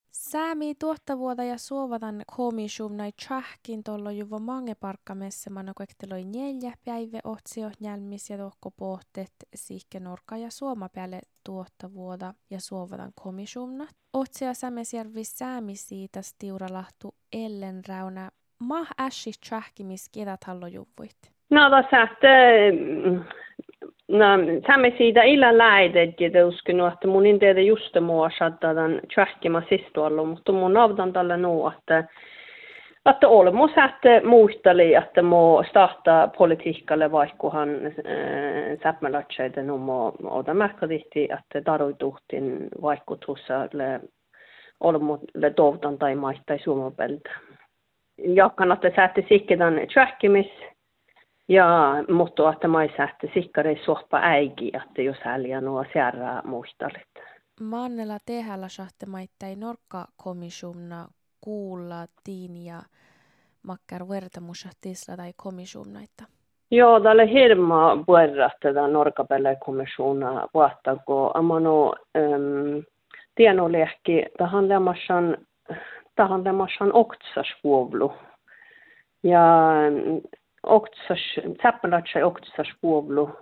Säämi tuottavuota ja suovatan komissium näin tjahkin tuolla juvo mange parkkamessa mano kuekteloi 4 päivä otsiohjelmis ja tohko pohteet sihke norka ja suoma päälle tuottavuota ja suovatan komissiumna. Otsia Sämesjärvi säämi siitä stiuralahtu ellen rauna mah ässi tjahkimis kedat hallojuvuit. No tässä no saamme siitä illa läidet ja uskon että mun ei tiedä just muassa tämän tjahkima sistualla, mutta mun avdan tällä nuo että olemos että muisteli että mo starta politiikalle vaikkuhan säpmälatseiden numo oda märkadihti että taroituhtin vaikutusalle olemulle tovdan tai maittai suomopelta. Jakkan että säätte sikkedan tjahkimis ja mutta että mai säätte sikkare sohpa äigi että jos häliä nuo särää muistalit. Mannella tehällä sahte maittai norka komissiumna kuulla tiin ja makkar vertamusa tisla tai komissiumnaita. Joo, tälle hirma puerra tätä norkapelle komissiona vahtako amano tienolehki tahan lemassan oktsasvuovlu. Ja täppälätsä oktsasvuovlu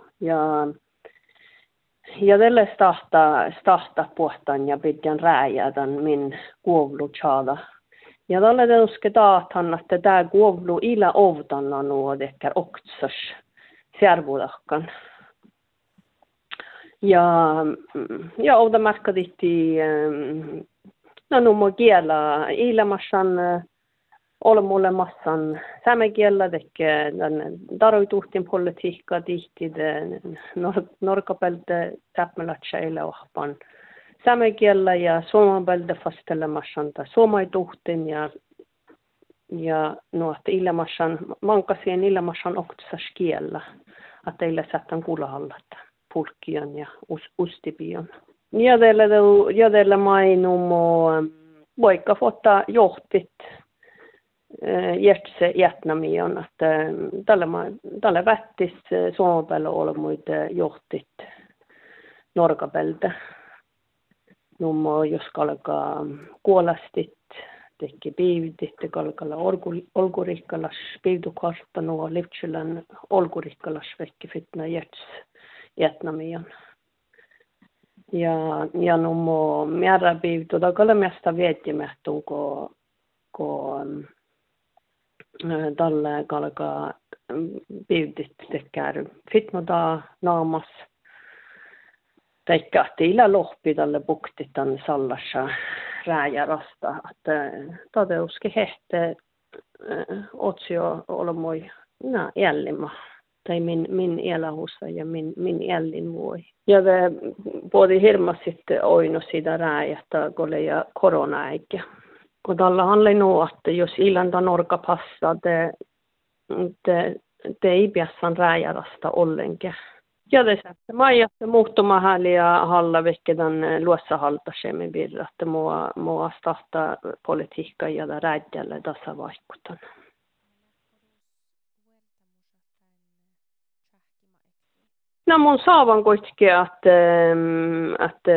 ja tälle stahta puhtaan ja pidän rääjää tämän min kuovlu tjada. Ja tälle teuske taathan, että tämä kuovlu ila ovtanna nuo dekkar oktsas särvudakkan. Ja ovta märkaditti no numo kiela ilamassan olemulle massan sämekiellä tekke taroituhtin politiikka tihti norkapelte täpmälätsäillä ohpan sämekiellä ja suomapelte fastelemassan tai suomaituhtin ja nuotte ilamassan mankasien ilamassan oktsas kiellä että illa sättän kulahallat pulkkion ja ustipion. Ja teillä mainumo vaikka ottaa johtit jätse jätnamion, että tällä vättis suomapäällä olemuita johtit norkapeltä. Nummo jos kalkaa kuolastit, teki piivtit, kalkalla olkurikkalas, piivtukartta nuo livtsilän olkurikkalas vekki fitna jätnamion. Ja nummo määrä piivtu, takalla mesta viettimähtuu, kun tällä kalkaa piivtit tekee fitnodaa naamas. Teikka ila lohpi tälle bukti tämän sallassa rääjärasta, että toteuski hehte otsio olmoi jällimä. Tai min elähussa ja min jällin voi. Ja det både hirmas sitten oino siitä rääjästä, kun ja korona-aikä. Kun tällä handlar nog että jos ilanta norka passar, det ei piassan rääjärasta ollenkaan. Ja det sätter majasta muuttumahan ja halla vekkedan luossa haltasemme birra, että mua starta politiikka ja rääjälle tässä vaikutan. No mun saavan kuitenkin, että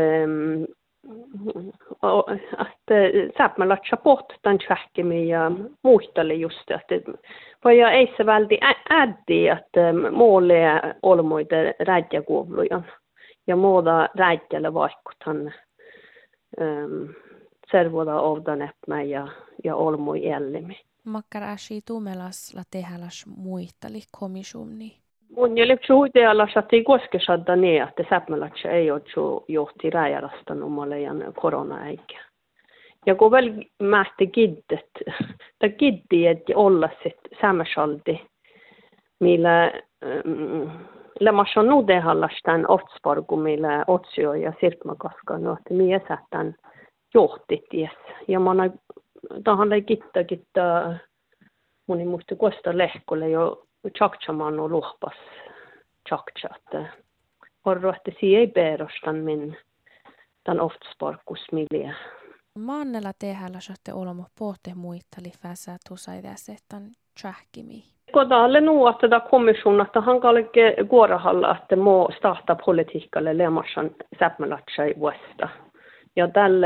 säpmälatsa pohtan tjähkimi ja muisteli just, että voi ei se välti äddi, että muulle olmoita räjäkuovluja ja muuta räjälle vaikutan servoda ovdan eppä ja olmoi jällimi. Makkar äsi tumelasla tehäläs muisteli komissiumni. Mun jälkeen huitealas, että ei koskesada niin, että säpmälatsa ei ole johti räjärasta numalejan korona-aikä. Ja kun vielä mähti kiddet, tai kiddi, että olla sitten sämmäsalti, millä lämmässä on nuudehallas tämän otsparku, millä otsio ja sirpmakaska, no, että mies tämän johti ties. Ja mä oon tahan ei kitta, mun ei muista kosta lehkolle jo, tjakchaman och luhpas tjaktchat. Horroitte ei perustan min tämän oftsparkkusmiljö. Mannella tehällä sotte olemo pohte muittali fäsä tusaitäse tämän tjahkimi. Kodalle nu att det kommission att han kalke guorahalla att må starta politiikalle lemassan säpmälatsai vuosta. Ja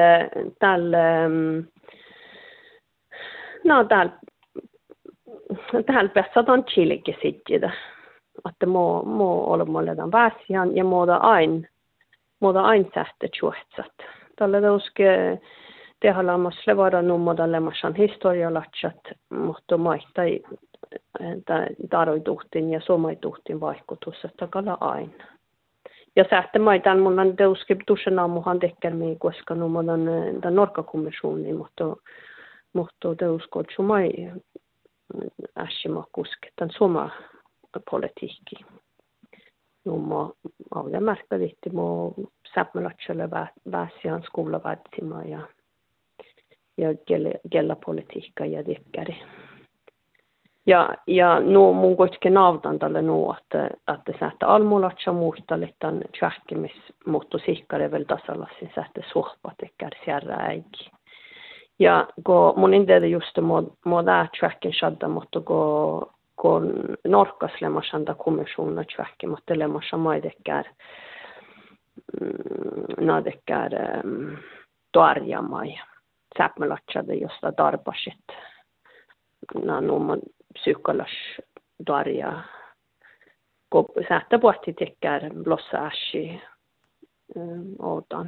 täällä pesataan chilikin sitten. Että mo olemaan väsiän ja muuta aina sähte chuhtsat. Tällä tauske tehdään levada nummoda lemmasan historialatsat, mutta maittai taroituhtin ja somaituhtin vaikutus, että kala aina. Ja sähte maitan mulla on tauske tusen aamuhan tekkermiin, koska nummodan tämän Norkakommissiooni, mutta tauskoot sumai äsimakuske tämän soma politiikki. Nummo avda märkvärdigt mo säpmälatselle väsiän skola vädsima ja gella politiikka ja dekkari. Ja no mun kuitenkin nautan tälle että sähtä almulatsa muistalle tämän tjähkimis muuttu sikkare vel tasallassin sähtä suhpa tekkär sierra äiki. Ja kun mun indeedi just mo tää tjähkin shadda mutta kun norkaslemmasanda kommissioona tjähki mutta lemmassa maidekkär nadekkär toarjamai säpmälatsade josta darbasit numman psykolas darja kun sähtä pohti tekkär blossa äsi otan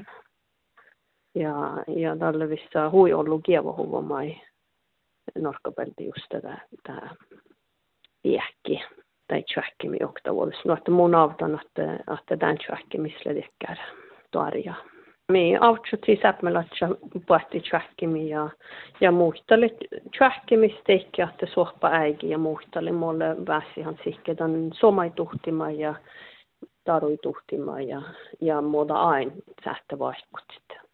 ja tälle vissa hui ollut kievohuvomai norkkapelti just tää viekki tai tjähkimi oktavuodessa. No, että mun autan, että tämän tjähkimisle tekkär toarja. Me autsutti säpmälatsa pohti tjähkimi ja muistali tjähkimisteikki, että suhpa äigi ja muistali mulle väsihan sihkedan somaituhtima ja taruituhtima ja muuta aina sähtä vaikutit.